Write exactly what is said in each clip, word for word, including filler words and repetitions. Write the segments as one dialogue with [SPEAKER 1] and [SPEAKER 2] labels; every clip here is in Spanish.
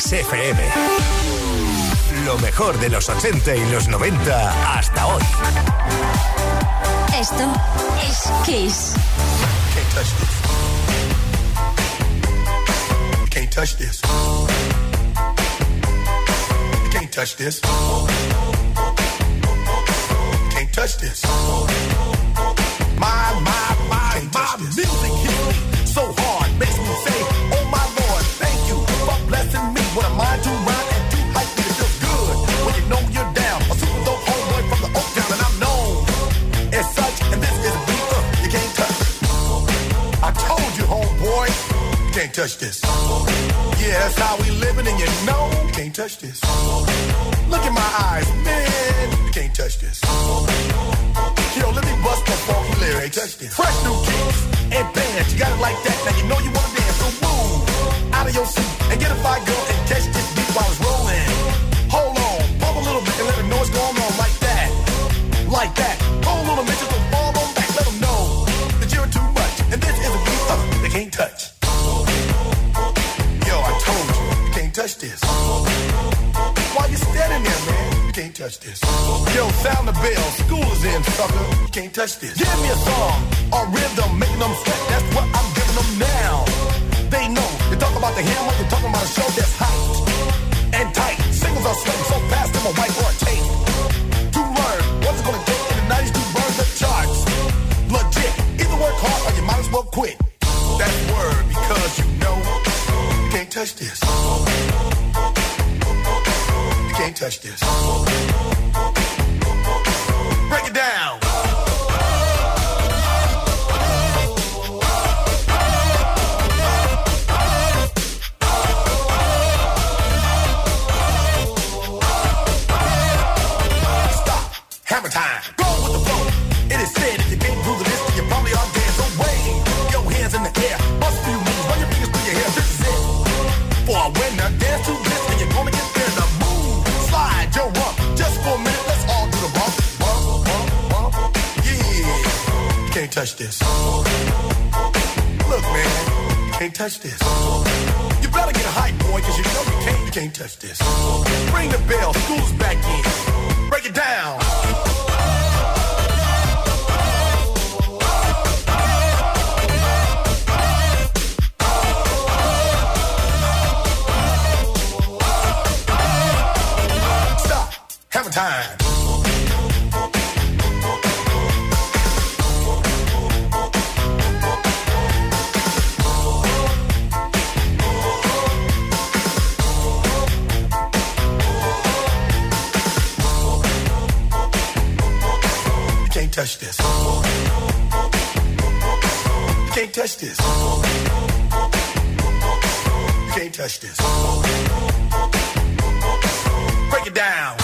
[SPEAKER 1] Kiss F M. Lo mejor de los ochenta y los noventa hasta hoy.
[SPEAKER 2] Esto es Kiss.
[SPEAKER 3] Can't touch this. You can't touch this. You can't touch this. You can't touch this. My, my, my, my music hits me so hard, makes me say, oh my Lord, thank you for blessing me with a mind to rhyme and to hype me. It feels good when you know you're down. A super dope homeboy from the Oak Town, and I'm known as such. And this is a beat uh, you can't touch. I told you, homeboy, you can't touch this. Yeah, that's how we living, and you know you can't touch this. Look in my eyes, man, you can't touch this. Yo, let me bust the funky lyrics. Fresh new kicks and bands, you got it like that. Now you know you wanna dance, so move out of your seat and get a fire girl and catch this beat while it's rolling. Hold on, pump a little bit and let them know what's going on like that, like that. Hold on a minute, just don't fall on back. Let them know that you're too much, and this is a beat uh, they can't touch. Yo, I told you, you can't touch this. Why you standing there, man? You can't touch this. Yo, sound the bell, school is in, sucker. You can't touch this. Give me a song or rhythm, making them sweat. That's what I'm giving them now. They know. You talk about the hammer, you're talking about a show that's hyped and tight. Singles are sweating so fast, I'm a whiteboard tape. To learn what's it gonna take in the nineties to burn the charts. Legit. Either work hard or you might as well quit. That word, because you know you can't touch this. Can't touch this. Break it down. Stop. Hammer time. Go with the flow. It is said if you can't do the list, then you probably are dead. So wave your hands in the air. Bust a few moves. Run your fingers through your hair. This is it. For a winner, dance to this, and you're gonna get there. The slide your rump, just for a minute, let's all do the bump, bump, bump, bump, yeah. You can't touch this. Look, man, you can't touch this. You better get hype, boy, cause you know you can't, you can't touch this. Ring the bell, school's back in. Break it down. Hammer time. You can't touch this. You can't touch this. You can't touch this. Break it down.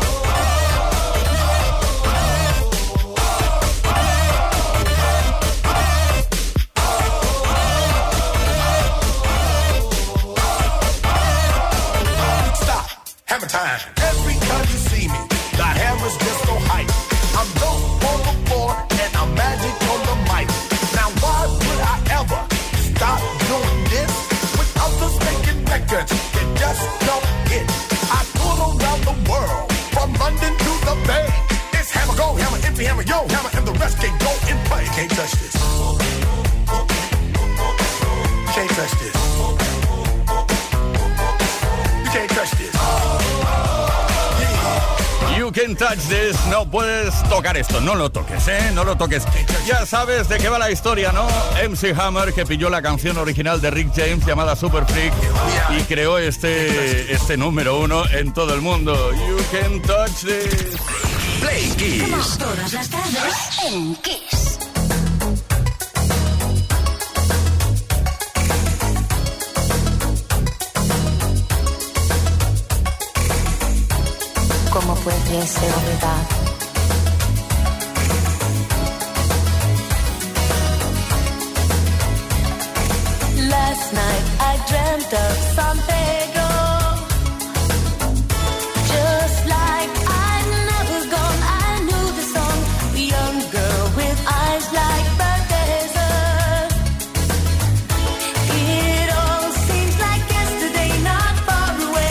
[SPEAKER 3] Time. Every time you see me, the hammer's just so hype. I'm dope on the floor and I'm magic on the mic. Now why would I ever stop doing this? With others making records that just don't hit. I tour around the world, from London to the Bay. It's hammer, go hammer, empty hammer, yo hammer, and the rest can go and play. You can't touch this. You can't touch this. You can't touch this.
[SPEAKER 4] You can touch this. No puedes tocar esto. No lo toques, ¿eh? No lo toques. Ya sabes de qué va la historia, ¿no? M C Hammer, que pilló la canción original de Rick James llamada Super Freak y creó este, este número uno en todo el mundo. You can touch this.
[SPEAKER 1] Play Kiss.
[SPEAKER 2] Como todas las tardes en Kiss.
[SPEAKER 5] ¿Cómo puede ser verdad? Last night I dreamt of San Pedro, just like I'd never gone. I knew the song, a young girl with eyes like the desert. It all seems like yesterday, not far away.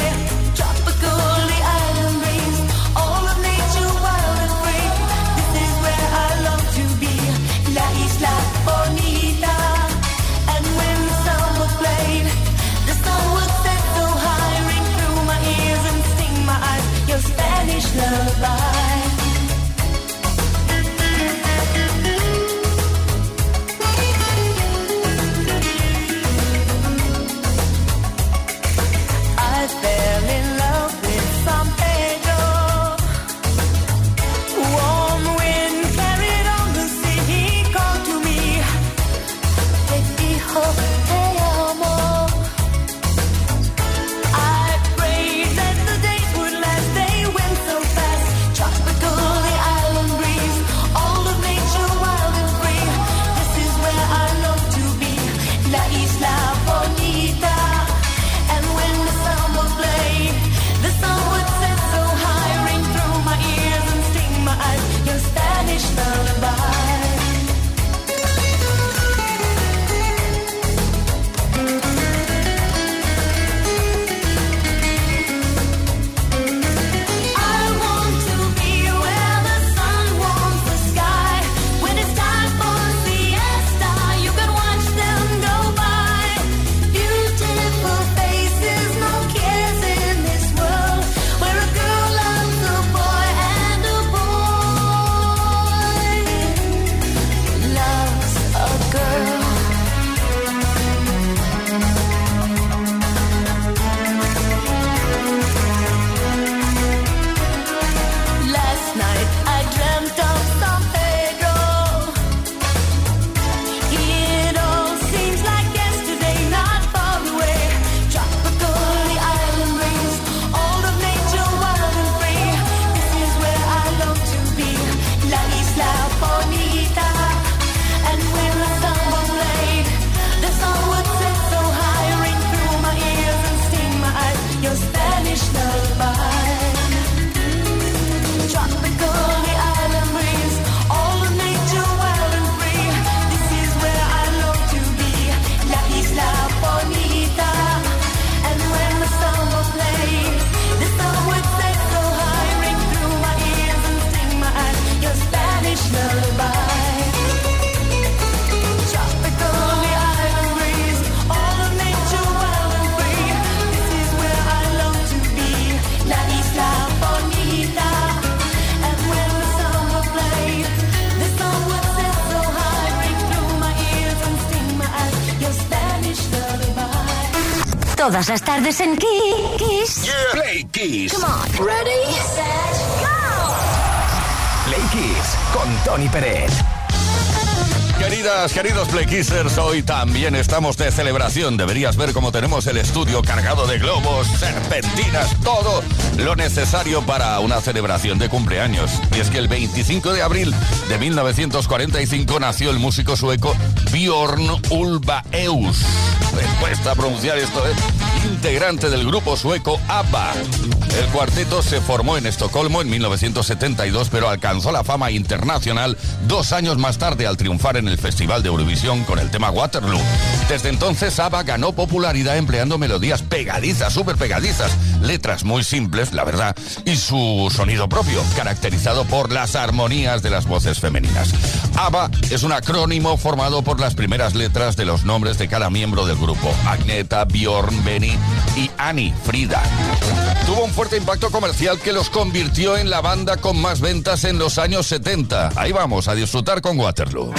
[SPEAKER 2] Todas las tardes en Kiss.
[SPEAKER 1] Yeah. Play Kiss.
[SPEAKER 2] Come on. Ready, set, go.
[SPEAKER 1] Play Kiss con Tony Pérez.
[SPEAKER 4] Queridas, queridos Play Kissers, hoy también estamos de celebración. Deberías ver cómo tenemos el estudio cargado de globos, serpentinas, todo lo necesario para una celebración de cumpleaños. Y es que el veinticinco de abril de mil novecientos cuarenta y cinco nació el músico sueco Björn Ulvaeus. Me cuesta pronunciar esto, ¿eh? Integrante del grupo sueco ABBA. El cuarteto se formó en Estocolmo en mil novecientos setenta y dos, pero alcanzó la fama internacional dos años más tarde al triunfar en el Festival de Eurovisión con el tema Waterloo. Desde entonces ABBA ganó popularidad empleando melodías pegadizas, súper pegadizas, letras muy simples, la verdad, y su sonido propio, caracterizado por las armonías de las voces femeninas. ABBA es un acrónimo formado por las primeras letras de los nombres de cada miembro del grupo: Agneta, Björn, Benny y Annie, Frida. Tuvo un fuerte impacto comercial que los convirtió en la banda con más ventas en los años setenta. Ahí vamos a disfrutar con Waterloo.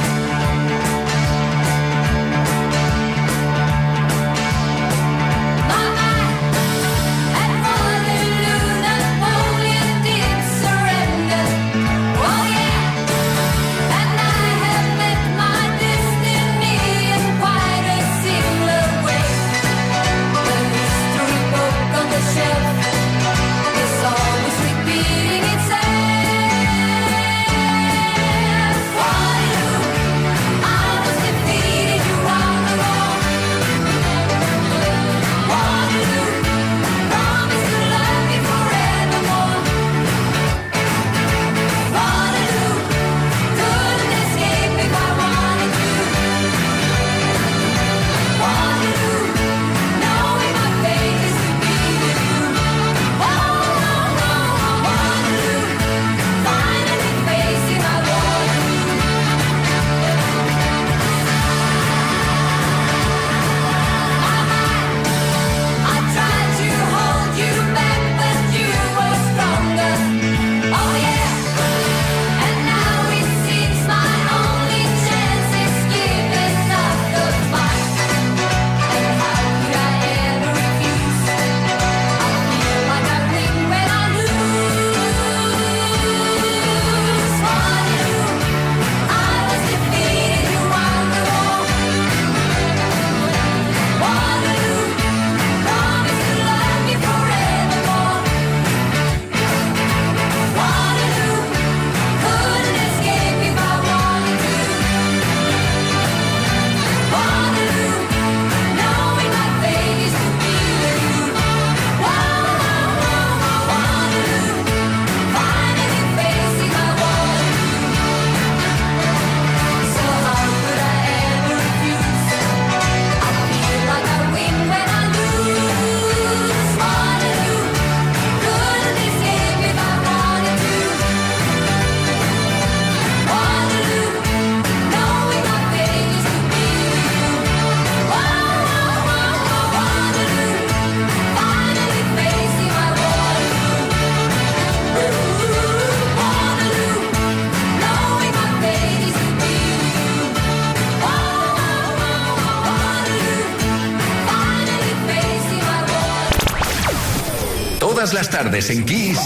[SPEAKER 1] Todas las tardes en Kiss.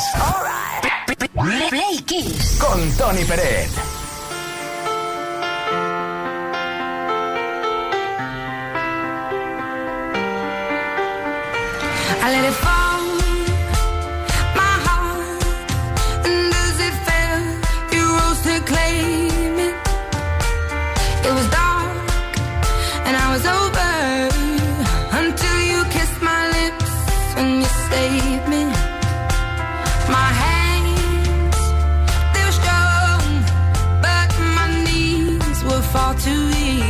[SPEAKER 2] Right. Play Kiss
[SPEAKER 1] con Tony Pérez.
[SPEAKER 6] I let it fall, my heart, and as it fell, you rose to claim it. It was dark, and I was over, until you kissed my lips and you saved me. My hands, they were strong, but my knees were far too weak.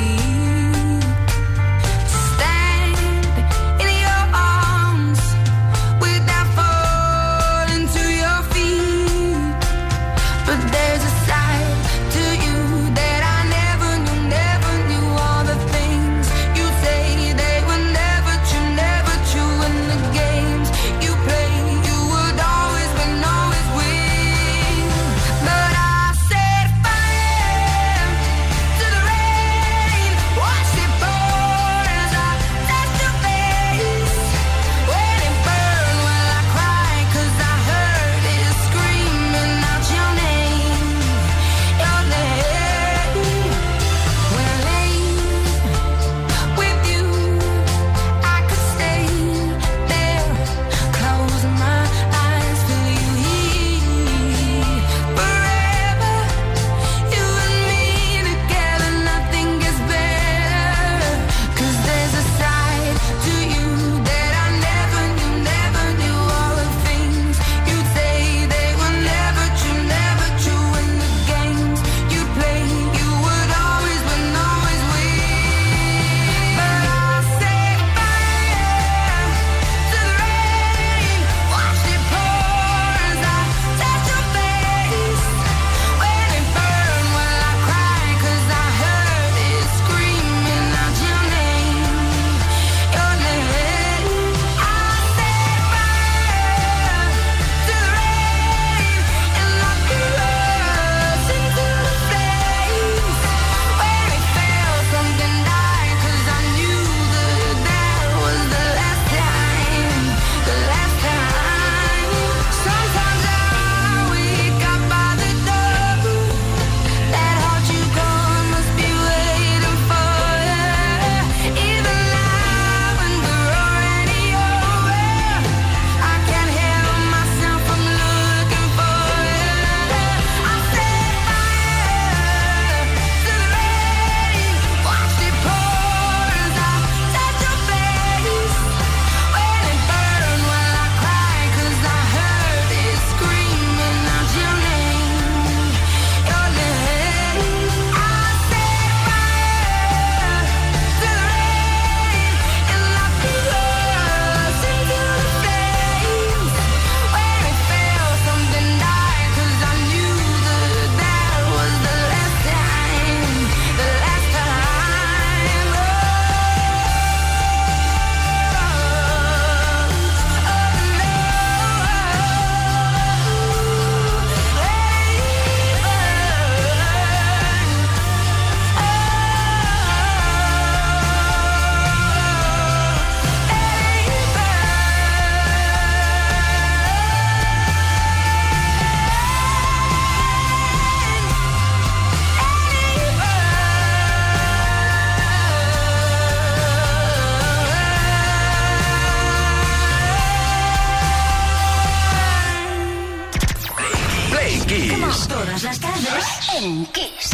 [SPEAKER 2] Todas las tardes en Kiss.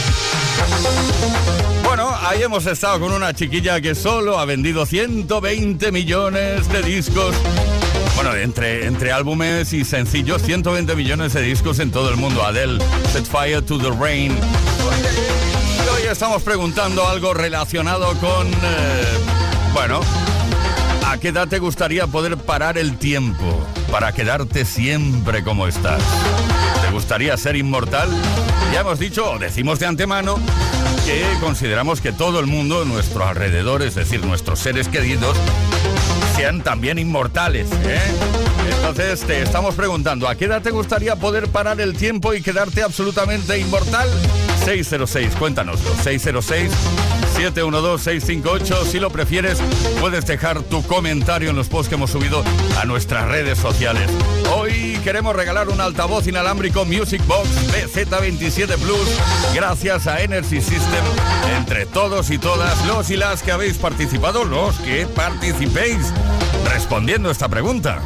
[SPEAKER 4] Bueno, ahí hemos estado con una chiquilla que solo ha vendido ciento veinte millones de discos. Bueno, entre, entre álbumes y sencillos, ciento veinte millones de discos en todo el mundo. Adele, Set Fire to the Rain. Y hoy estamos preguntando algo relacionado con... Eh, bueno, ¿a qué edad te gustaría poder parar el tiempo para quedarte siempre como estás? ¿Te gustaría ser inmortal? Ya hemos dicho, o decimos de antemano, que consideramos que todo el mundo en nuestro alrededor, es decir, nuestros seres queridos, sean también inmortales, ¿eh? Entonces te estamos preguntando, ¿a qué edad te gustaría poder parar el tiempo y quedarte absolutamente inmortal? seis cero seis, cuéntanoslo, seis cero seis, siete uno dos, seis cinco ocho. Si lo prefieres, puedes dejar tu comentario en los posts que hemos subido a nuestras redes sociales. Hoy queremos regalar un altavoz inalámbrico Music Box B Z veintisiete Plus gracias a Energy System. Entre todos y todas los y las que habéis participado, los que participéis respondiendo esta pregunta.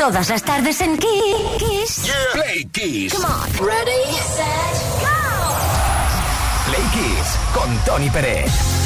[SPEAKER 2] Todas las tardes en Kiss.
[SPEAKER 1] Yeah. Play Kiss.
[SPEAKER 2] Come on. Ready, set, go.
[SPEAKER 1] Play Kiss con Tony Pérez.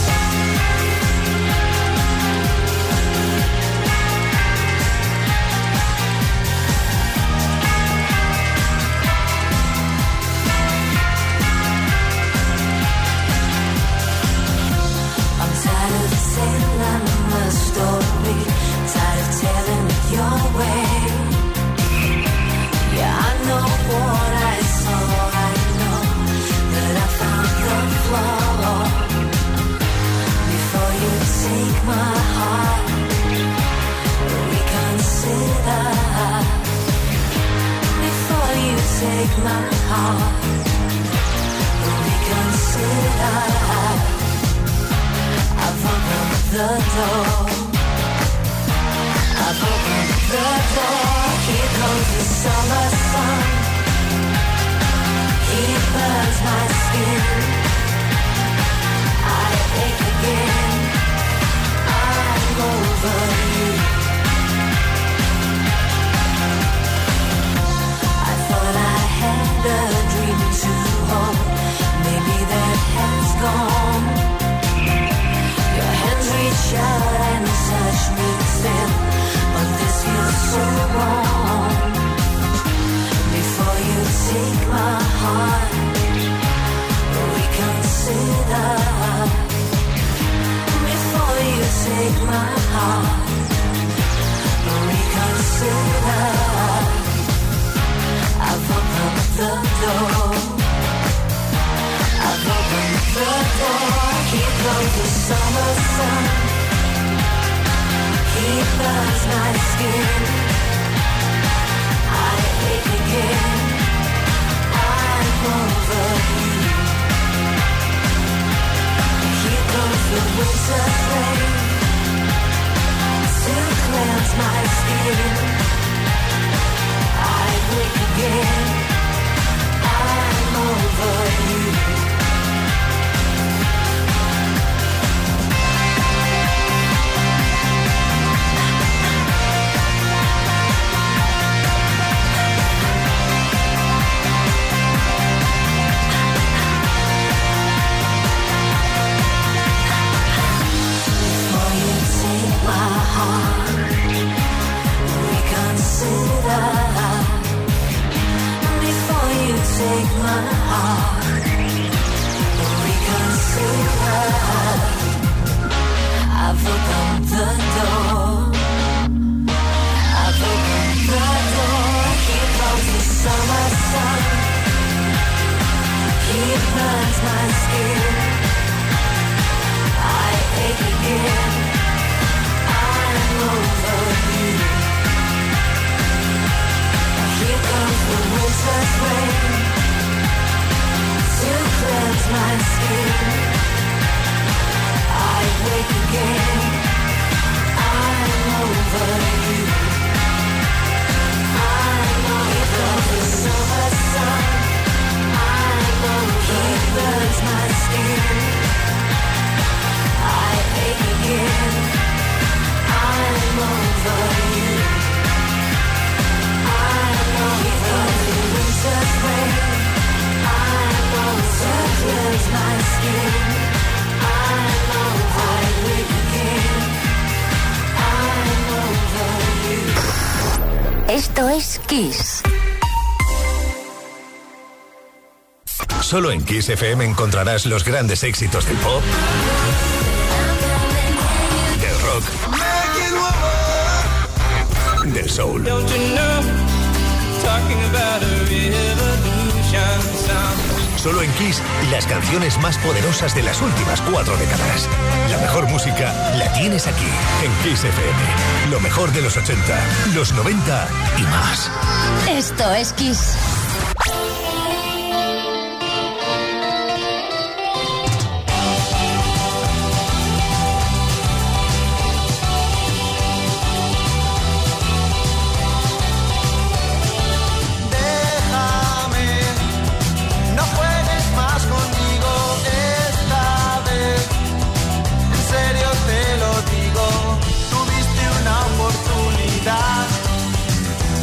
[SPEAKER 5] Take my heart, reconsider. I've opened the door. I've opened the door. Here comes the summer sun. He burns my skin. I ache again. I'm over you. A dream to hold, maybe that has gone. Your hands reach out and touch me still, but this feels so wrong. Before you take my heart, reconsider. Before you take my heart, reconsider. I've opened the door. I've opened the door. Here comes the summer sun. He burns my skin. I ache again. I'm over you. Here comes the winter rain to cleanse my skin. I wake again. I'm over you. Before you take my heart, reconsider. Before you take my heart, reconsider. I've opened the door. I've opened the door. Here comes the summer sun. He burns my skin. I ache again. I'm over you. Here comes the winter's rain to cleanse my skin. I wake again. I'm over you. I'm over. Here comes the summer sun. I'm over. He burns my skin. I ache again. I'm over you.
[SPEAKER 2] Esto es Kiss.
[SPEAKER 1] Solo en Kiss F M encontrarás los grandes éxitos del pop, del rock, del soul. Solo en Kiss, las canciones más poderosas de las últimas cuatro décadas. La mejor música la tienes aquí, en Kiss F M. Lo mejor de los ochenta, los noventa y más.
[SPEAKER 2] Esto es Kiss.
[SPEAKER 7] Te lo digo, tuviste una oportunidad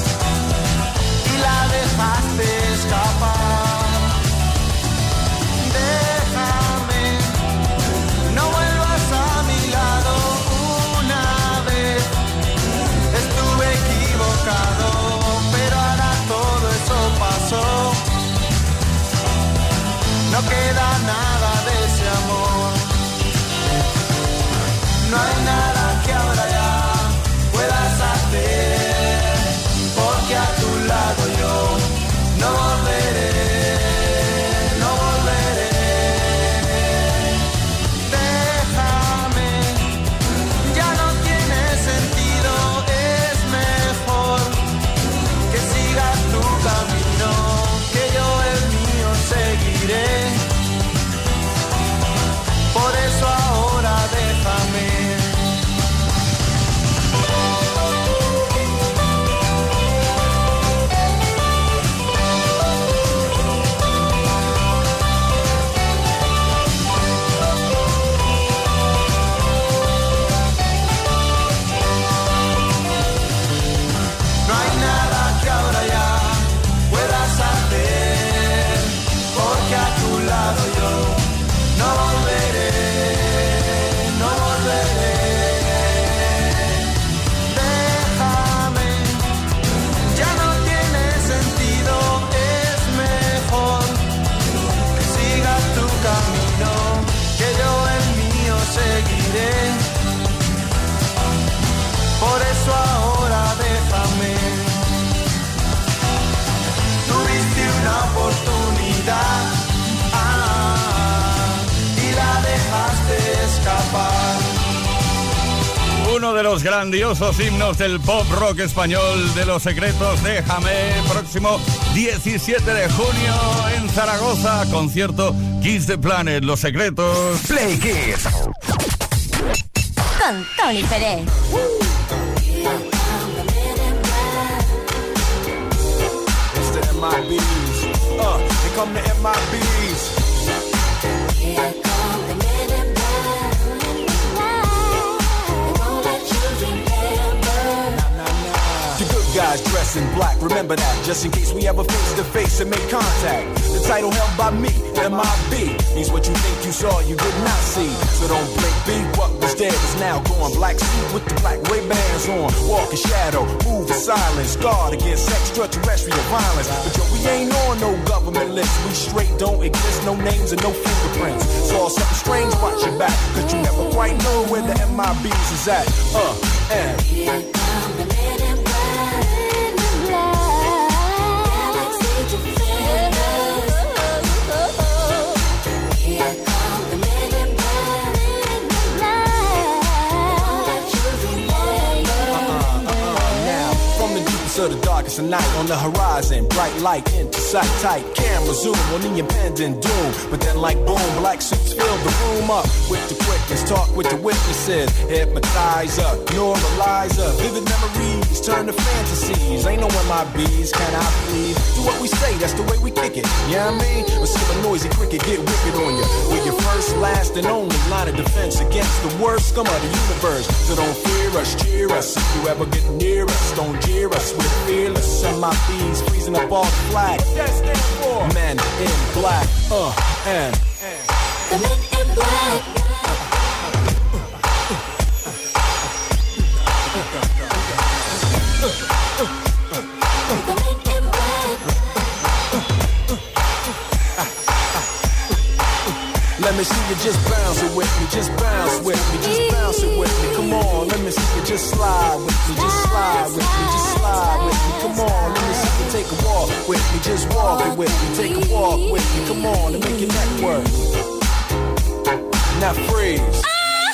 [SPEAKER 4] Uno de los grandiosos himnos del pop rock español, de Los Secretos, Déjame. Próximo diecisiete de junio en Zaragoza, concierto Kiss the Planet, Los Secretos.
[SPEAKER 1] Play Kiss.
[SPEAKER 2] Con Tony Pérez.
[SPEAKER 3] It's the M I Bs. Uh, here come the M I Bs.
[SPEAKER 5] Here come the men in black. They won't let you remember.
[SPEAKER 3] The good guys dress in black, remember that, just in case we ever face to face and make contact. The title held by me, M I B, means what you think you saw, you did not see. So don't blink, be what was dead is now gone. Black suit with the black Ray-Bans on, walk in shadow, move in silence, guard against extraterrestrial violence. But yo, we ain't on no government list, we straight don't exist, no names and no fingerprints. Saw something strange, watch your back, cause you never quite know where the M I Bs is at. Uh, and
[SPEAKER 5] Here come the men in black. Galaxy defenders. Here come the men in black. Won't let you remember.
[SPEAKER 3] now, from the deepest of the darkest of night, on the horizon, bright light into sight, tight camera zoom on the impending doom. But then like boom, black suits fill the room up with the quickness, talk with the witnesses, hypnotizer, normalizer, vivid memories turn to fantasies. Ain't no M I Bs, can I please? Do what we say, that's the way we kick it. You know what I mean? Or see a noisy cricket get wicked on you. We're your first, last, and only line of defense against the worst scum of the universe. So don't fear us, cheer us. If you ever get near us, don't jeer us. We're fearless. M I Bs freezing up all the flag. What that stand for? Men in black. Uh, and.
[SPEAKER 5] The men in black. The men in black.
[SPEAKER 3] Let me see you just bounce it with me, just bounce with me, just bounce it with me. Come on, let me see you just slide with me, just slide with me, just slide with me. Come on, let me see you take a walk with me, just walk it with me, take a walk with me. Come on, and make your neck work. Now freeze.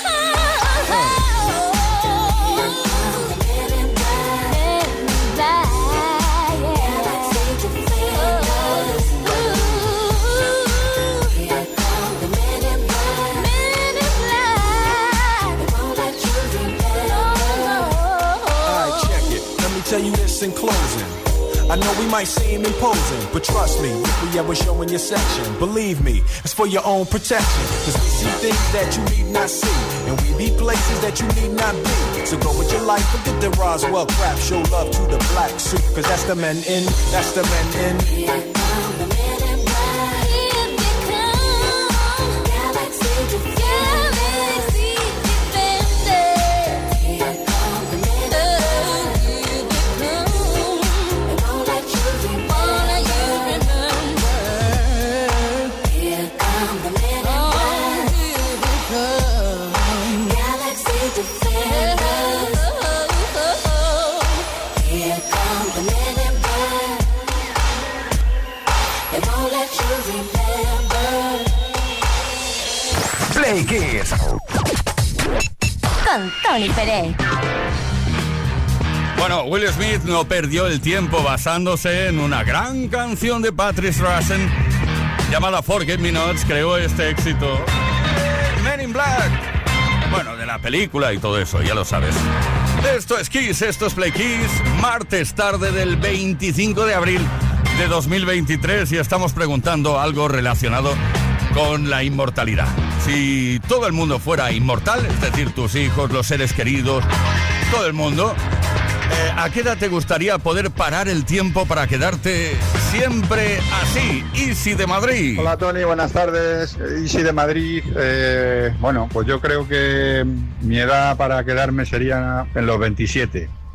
[SPEAKER 3] Tell you this in closing. I know we might seem imposing, but trust me, if we ever show in your section, believe me, it's for your own protection. Cause we see things that you need not see, and we be places that you need not be. So go with your life, forget the Roswell crap, show love to the black suit, cause that's the men in, that's the men in.
[SPEAKER 5] Here come the men in black. Here they come. Galaxy defenders. Galaxy defenders. Here come the men in black.
[SPEAKER 1] Play Kiss.
[SPEAKER 2] Con Tony Pérez.
[SPEAKER 4] Bueno, Will Smith no perdió el tiempo basándose en una gran canción de Patrice Rushen llamada Forget Me Nots, creó este éxito. Men in Black. Bueno, de la película y todo eso, ya lo sabes. Esto es Kiss, esto es Play Kiss, martes tarde del veinticinco de abril de dos mil veintitrés y estamos preguntando algo relacionado con la inmortalidad. Si todo el mundo fuera inmortal, es decir, tus hijos, los seres queridos, todo el mundo, eh, ¿a qué edad te gustaría poder parar el tiempo para quedarte siempre así? Easy de Madrid.
[SPEAKER 7] Hola Tony, buenas tardes. Easy de Madrid. Eh, bueno, pues yo creo que mi edad para quedarme sería en los veintisiete.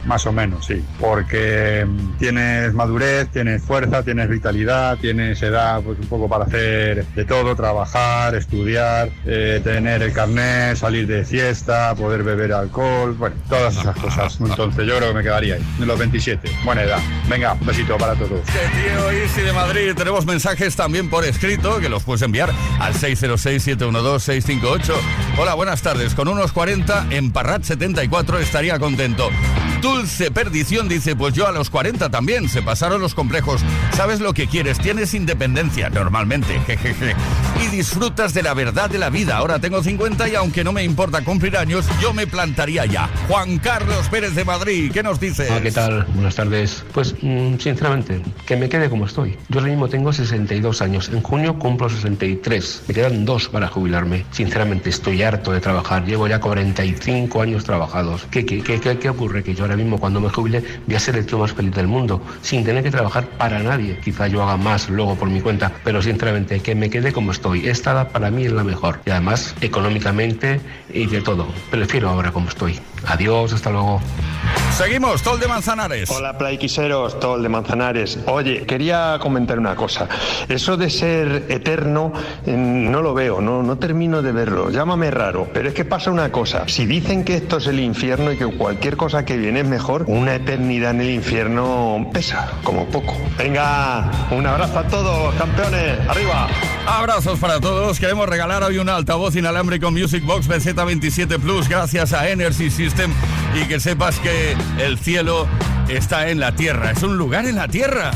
[SPEAKER 7] Más o menos, sí, porque mm, tienes madurez, tienes fuerza, tienes vitalidad, tienes edad pues un poco para hacer de todo, trabajar, estudiar, eh, tener el carnet, salir de fiesta, poder beber alcohol, bueno, todas esas cosas. Entonces yo creo que me quedaría ahí, en los veintisiete, buena edad. Venga, un besito para todos.
[SPEAKER 4] Que tío, Isi de Madrid, tenemos mensajes también por escrito que los puedes enviar al seis cero seis, siete uno dos, seis cinco ocho. Hola, buenas tardes, con unos cuarenta en Parrat setenta y cuatro estaría contento. Dulce Perdición dice, pues yo a los cuarenta también, se pasaron los complejos, sabes lo que quieres, tienes independencia, normalmente, jejeje, y disfrutas de la verdad de la vida. Ahora tengo cincuenta y aunque no me importa cumplir años, yo me plantaría ya. Juan Carlos Pérez de Madrid, ¿qué nos dices?
[SPEAKER 8] Hola, ¿qué tal? Buenas tardes. Pues, mmm, sinceramente, que me quede como estoy. Yo ahora mismo tengo sesenta y dos años, en junio cumplo sesenta y tres, me quedan dos para jubilarme. Sinceramente, estoy harto de trabajar, llevo ya cuarenta y cinco años trabajados. ¿Qué, qué, qué, qué, qué ocurre? Que yo ahora mismo cuando me jubile voy a ser el tío más feliz del mundo, sin tener que trabajar para nadie. Quizá yo haga más luego por mi cuenta, pero sinceramente que me quede como estoy. Esta edad para mí es la mejor y además económicamente y de todo. Prefiero ahora como estoy. Adiós, hasta luego.
[SPEAKER 4] Seguimos, Tol de Manzanares.
[SPEAKER 9] Hola, Playquiseros, Tol de Manzanares. Oye, quería comentar una cosa. Eso de ser eterno eh, no lo veo, no, no termino de verlo. Llámame raro, pero es que pasa una cosa. Si dicen que esto es el infierno y que cualquier cosa que viene es mejor, una eternidad en el infierno pesa, como poco. Venga, un abrazo a todos, campeones. ¡Arriba!
[SPEAKER 4] Abrazos para todos. Queremos regalar hoy un altavoz inalámbrico Music Box B Z veintisiete Plus gracias a Energy System, y que sepas que el cielo está en la tierra, es un lugar en la tierra.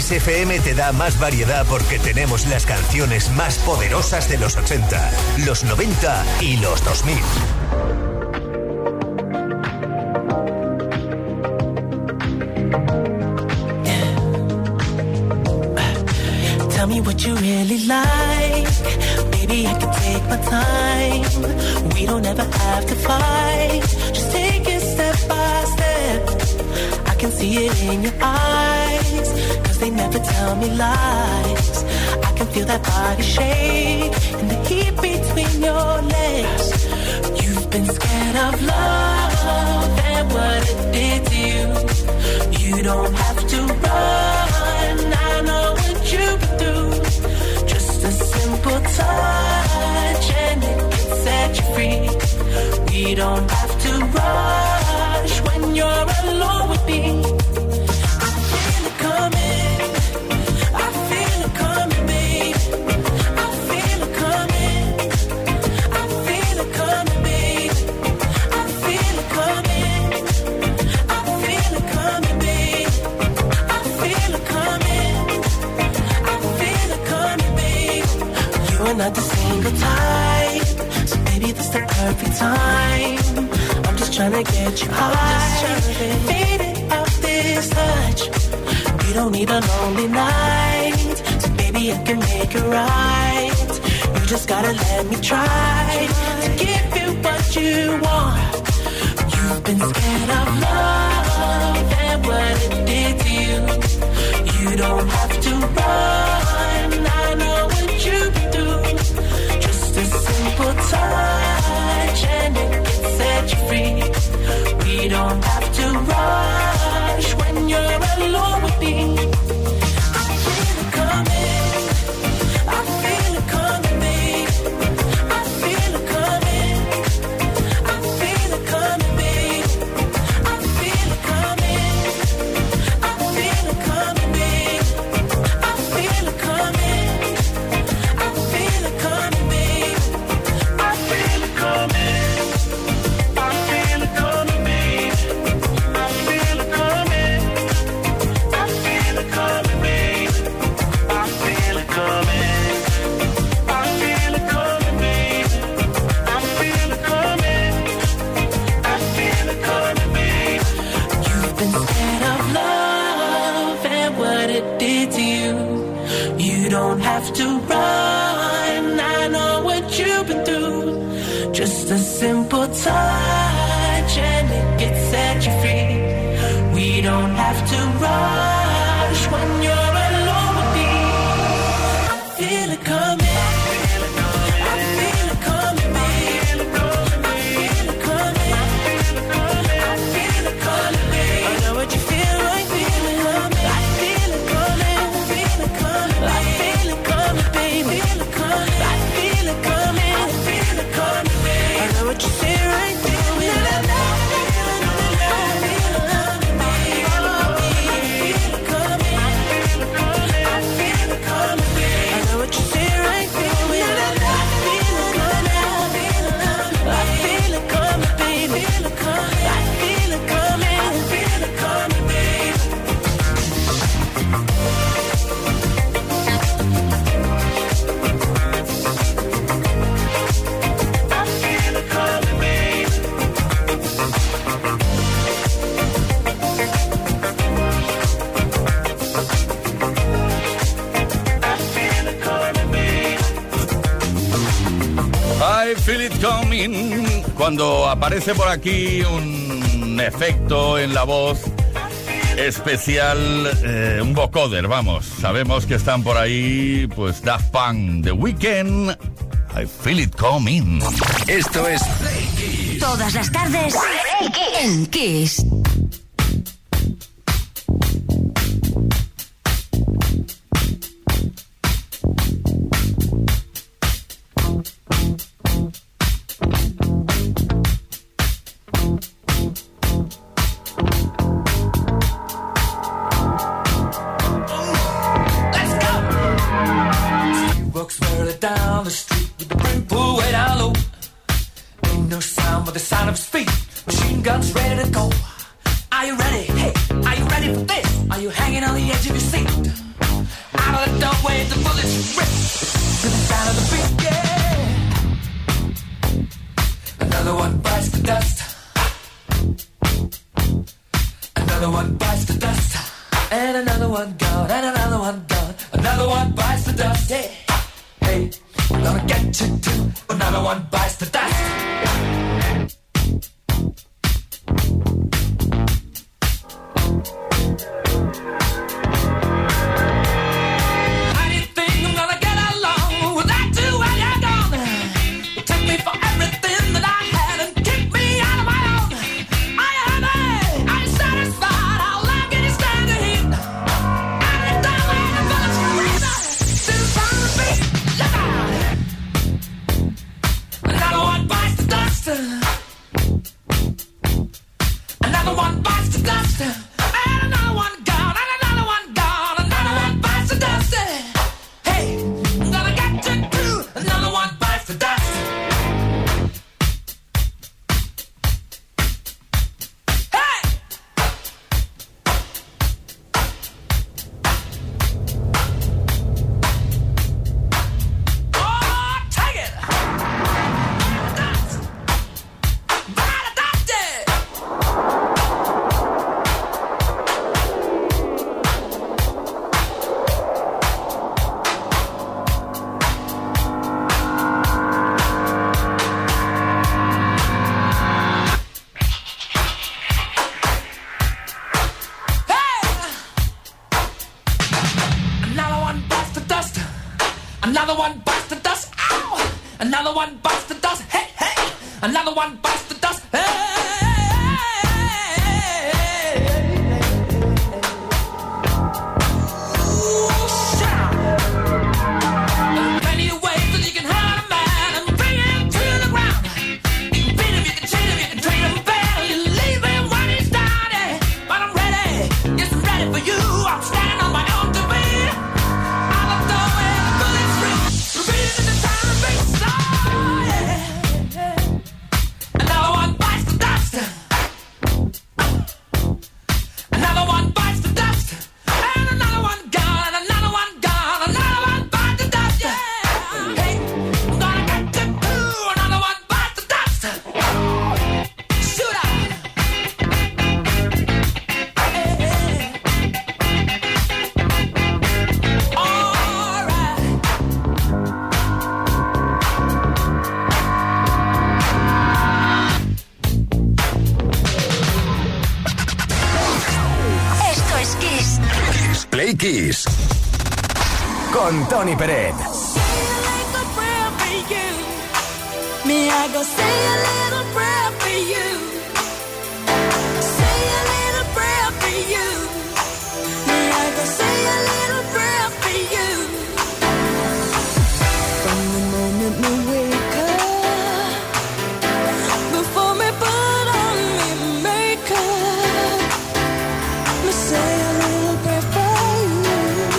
[SPEAKER 1] Kiss F M te da más variedad porque tenemos las canciones más poderosas de los ochenta, los noventa y los dos mil.
[SPEAKER 10] Tell me what you really like. Baby, I can take my time. We don't ever have to fight. Just take it step by step. I can see it in your eyes, 'cause they never tell me lies. I can feel that body shake and the heat between your legs. You've been scared of love and what it did to you. You don't have to run. I know what you've been through. Just a simple touch and it can set you free. We don't have to rush when you're alone with me. I feel it coming. I feel it coming, babe. I feel it coming. I feel it coming, babe. I feel it coming. I feel it coming, babe. I feel it coming. I feel it coming, babe. You are not the single type, so maybe this the perfect time. I'm just trying to get you high, faded off this touch. You don't need a lonely night, so baby I can make it right. You just gotta let me try to give you what you want. You've been scared of love and what it did to you. You don't have to run. I know what you've been through. Just a simple touch and it can set you free. We don't have to rush when you're alone with me. I feel it coming. I feel it coming, babe. I feel it coming. I feel it coming, babe. I feel it coming. I feel it coming, babe. I feel it coming. I feel it coming, babe. I feel it coming. I feel it coming, babe. I feel it coming. I feel it coming, babe. I feel it coming. I feel it coming, babe. I feel it coming. I feel it coming, babe. You've been scared of love and what it did to you. You don't have to run. I know what you've been through. Just a simple touch and it gets set you free. We don't have to rush when you're alone with me. I feel it coming. I feel it coming, babe. I feel it coming. I feel it coming, babe. I know what you feel like, feel it coming. I feel it coming, feel it coming, I feel it coming, babe. Feel it coming. I feel it coming, I feel it coming, babe. I know what you feel right, feel it.
[SPEAKER 4] I feel it coming. Cuando aparece por aquí un efecto en la voz especial, eh, un vocoder, vamos. Sabemos que están por ahí, pues Daft Punk, The Weeknd, I feel it coming.
[SPEAKER 1] Esto es
[SPEAKER 2] Todas las tardes en Kiss.
[SPEAKER 11] Down the street with the brim pulled way down low. Ain't no sound but the sound of his feet. Machine guns ready to go. Are you ready? Hey, are you ready for this? Are you hanging on the edge of your seat? one gone, and another one gone. Another one bites the dust. Yeah. Hey, I'm gonna get you too. Another one bites the dust. How do you think I'm gonna get along without you when you're gone? You took me for everything that I had and kicked me out of my own. Are you happy? Are you satisfied? How long can you stand the heat? Are you done with the bullets forever? Still trying to beat? Look out! Another one bites the dust. Another one bites the dust. And another one gone. And another one gone. Another one bites the dust. Hey, I'm gonna get you too. Another one bites the dust. Hey! Oh, take it! Dust. By the dust, yeah. Another one bites the dust. Another one bites the dust. Ow! Another one bites the dust. Hey, hey! Another one bites the dust. Hey! Ooh, shout! There are plenty of ways that you can hurt a man and bring him to the ground. You can beat him, you can cheat him, you can treat him bad, you leave him when he's down. Yeah. But I'm ready, yes, I'm ready for you. I'm standing on my own two feet. I'll have to win the bullets free. Repeat it the time and beat. So, yeah. Another one bites the dust. Another one bites the dust. And another one gone. And another one gone. Another one bites the dust. Yeah. Hey, I'm gonna get you too. Another one bites the dust. Shoot out. Hey, hey. All right.
[SPEAKER 2] Esto es Kiss.
[SPEAKER 1] Kiss Play Kiss. Con Tony Peret.
[SPEAKER 6] Me, I go say a little prayer for you. Say a little prayer for you. Me, I go say a little prayer for you. From the moment we wake up, before me put on me makeup, me say a little prayer for you.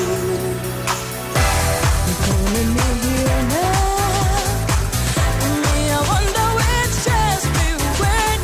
[SPEAKER 6] You're calling me here now. Me, I wonder which just be when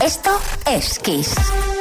[SPEAKER 2] Esto es Kiss.